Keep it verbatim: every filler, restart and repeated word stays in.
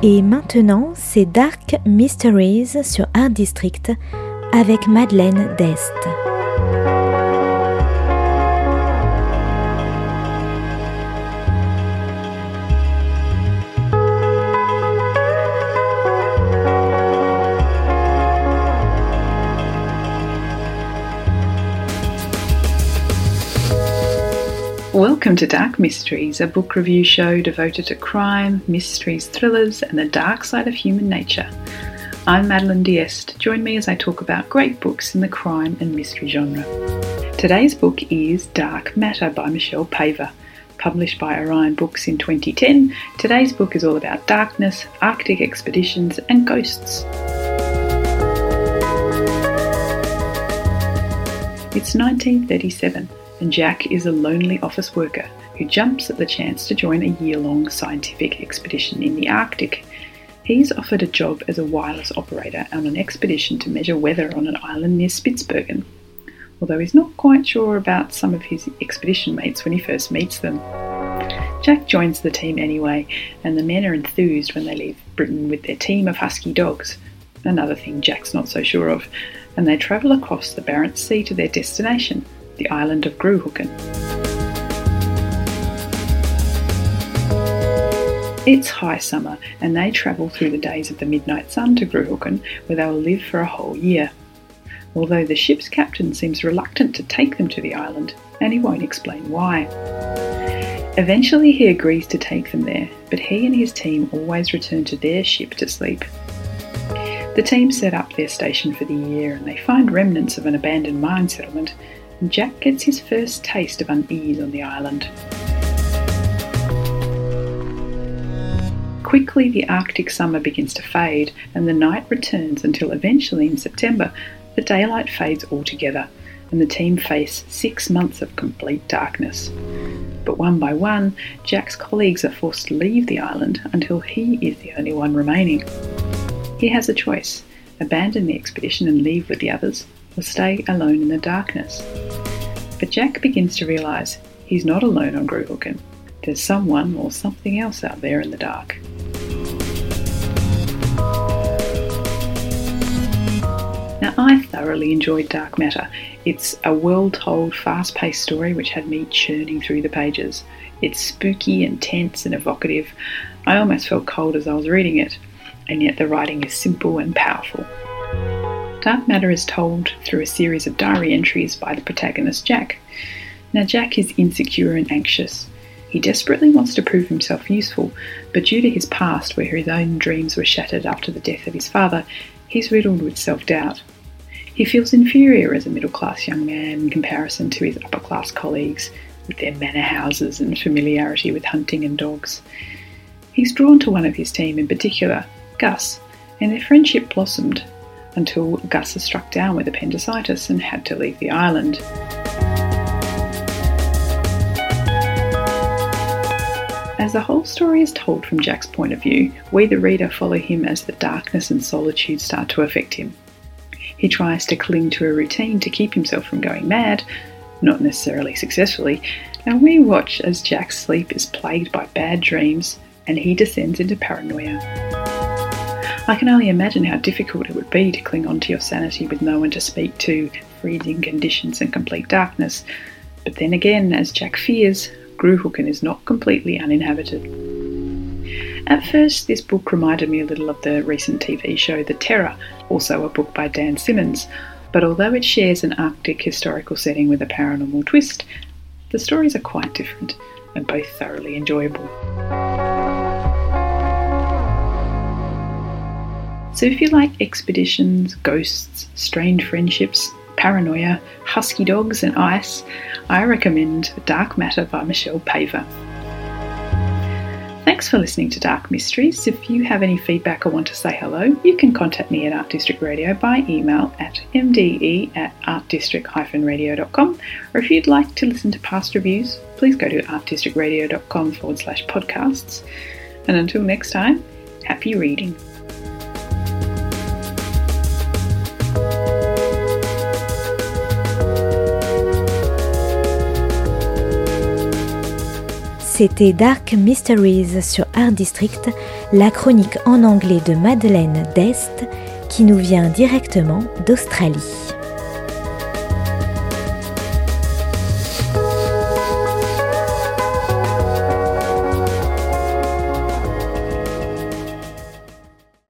Et maintenant, c'est Dark Mysteries sur Art District avec Madeleine Dest. Welcome to Dark Mysteries, a book review show devoted to crime, mysteries, thrillers, and the dark side of human nature. I'm Madeleine D'Este. Join me as I talk about great books in the crime and mystery genre. Today's book is Dark Matter by Michelle Paver. Published by Orion Books in twenty ten, today's book is all about darkness, Arctic expeditions, and ghosts. It's nineteen thirty-seven. And Jack is a lonely office worker who jumps at the chance to join a year-long scientific expedition in the Arctic. He's offered a job as a wireless operator on an expedition to measure weather on an island near Spitsbergen, although he's not quite sure about some of his expedition mates when he first meets them. Jack joins the team anyway, and the men are enthused when they leave Britain with their team of husky dogs, another thing Jack's not so sure of, and they travel across the Barents Sea to their destination, the island of Gruhooken. It's high summer and they travel through the days of the midnight sun to Gruhooken, where they will live for a whole year. Although the ship's captain seems reluctant to take them to the island, and he won't explain why. Eventually he agrees to take them there, but he and his team always return to their ship to sleep. The team set up their station for the year and they find remnants of an abandoned mine settlement, and Jack gets his first taste of unease on the island. Quickly the Arctic summer begins to fade and the night returns until eventually in September the daylight fades altogether and the team face six months of complete darkness. But one by one, Jack's colleagues are forced to leave the island until he is the only one remaining. He has a choice: abandon the expedition and leave with the others, or stay alone in the darkness. But Jack begins to realise he's not alone on Gruhooken. There's someone or something else out there in the dark. Now, I thoroughly enjoyed Dark Matter. It's a well-told, fast-paced story which had me churning through the pages. It's spooky and tense and evocative. I almost felt cold as I was reading it, and yet the writing is simple and powerful. Dark Matter is told through a series of diary entries by the protagonist Jack. Now Jack is insecure and anxious. He desperately wants to prove himself useful, but due to his past where his own dreams were shattered after the death of his father, he's riddled with self-doubt. He feels inferior as a middle-class young man in comparison to his upper-class colleagues with their manor houses and familiarity with hunting and dogs. He's drawn to one of his team in particular, Gus, and their friendship blossomed until Gus is struck down with appendicitis and had to leave the island. As the whole story is told from Jack's point of view, we the reader follow him as the darkness and solitude start to affect him. He tries to cling to a routine to keep himself from going mad, not necessarily successfully, and we watch as Jack's sleep is plagued by bad dreams and he descends into paranoia. I can only imagine how difficult it would be to cling on to your sanity with no one to speak to, freezing conditions and complete darkness. But then again, as Jack fears, Gruhooken is not completely uninhabited. At first, this book reminded me a little of the recent T V show The Terror, also a book by Dan Simmons, but although it shares an Arctic historical setting with a paranormal twist, the stories are quite different and both thoroughly enjoyable. So if you like expeditions, ghosts, strained friendships, paranoia, husky dogs and ice, I recommend Dark Matter by Michelle Paver. Thanks for listening to Dark Mysteries. If you have any feedback or want to say hello, you can contact me at Art District Radio by email at m d e at art district dash radio dot com, or if you'd like to listen to past reviews, please go to artdistrictradio.com forward slash podcasts. And until next time, happy reading. c'était Dark Mysteries sur Art District, la chronique en anglais de Madeleine Dest qui nous vient directement d'Australie.